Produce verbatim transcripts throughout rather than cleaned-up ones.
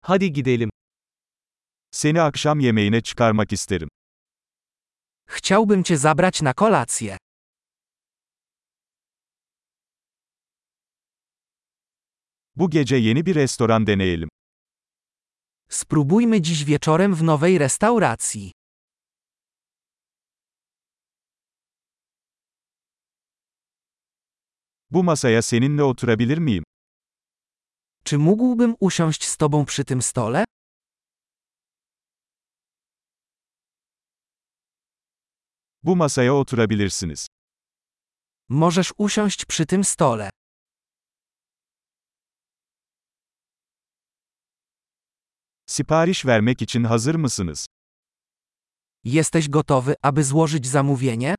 Hadi gidelim. Seni akşam yemeğine çıkarmak isterim. Chciałbym cię zabrać na kolację. Bu gece yeni bir restoran deneyelim. Spróbujmy dziś wieczorem w nowej restauracji. Bu masaya seninle oturabilir miyim? Czy mógłbym usiąść z tobą przy tym stole? Bu masaya oturabilirsiniz. Możesz usiąść przy tym stole. Sipariş vermek için hazır mısınız? Jesteś gotowy, aby złożyć zamówienie?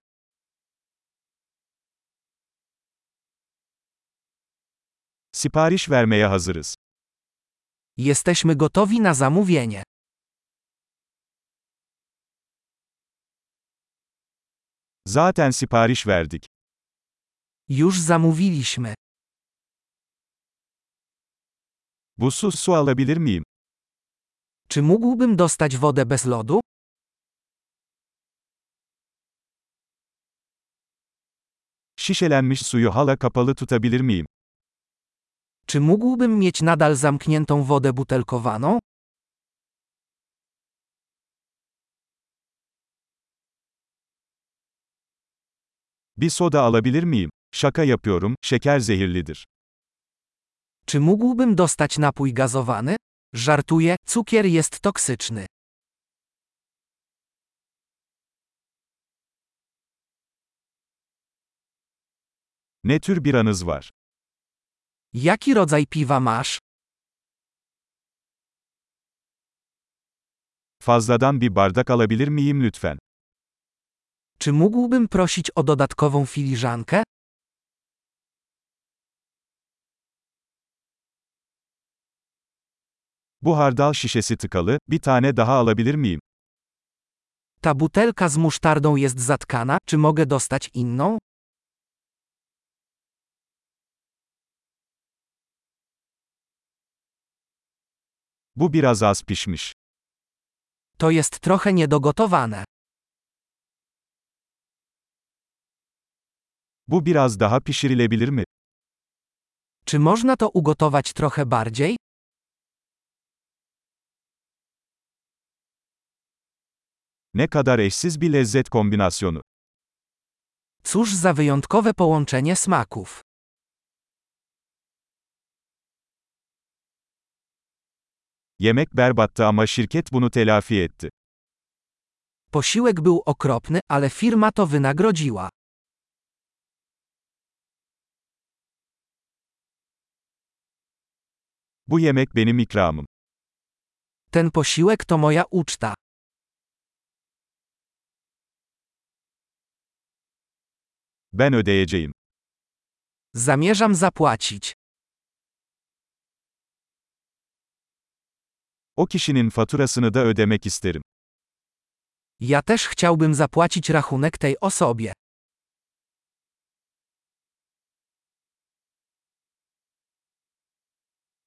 Sipariş vermeye hazırız. Jesteśmy gotowi na zamówienie. Zaten sipariş verdik. Już zamówiliśmy. Buzsuz su alabilir miyim? Czy mógłbym dostać wodę bez lodu? Şişelenmiş suyu hala kapalı tutabilir miyim? Czy mógłbym mieć nadal zamkniętą wodę butelkowaną? Bir soda alabilir miyim? Şaka yapıyorum, şeker zehirlidir. Czy mógłbym dostać napój gazowany? Żartuję, cukier jest toksyczny. Ne tür biranız var? Jaki rodzaj piwa masz? Fazladan bir bardak alabilir miyim lütfen? Czy mógłbym prosić o dodatkową filiżankę? Bu hardal şişesi tıkalı, bir tane daha alabilir miyim? Ta butelka z musztardą jest zatkana, czy mogę dostać inną? Bu biraz az pişmiş. To jest trochę niedogotowane. Bu biraz daha pişirilebilir mi? Czy można to ugotować trochę bardziej? Ne kadar eşsiz bir lezzet kombinasyonu. Cóż za wyjątkowe połączenie smaków. Yemek berbattı ama şirket bunu telafi etti. Posiłek był okropny, ale firma to wynagrodziła. Bu yemek benim ikramım. Ten posiłek to moja uczta. Ben ödeyeceğim. Zamierzam zapłacić. O kişinin faturasını da ödemek isterim. Ja też chciałbym zapłacić rachunek tej osobie.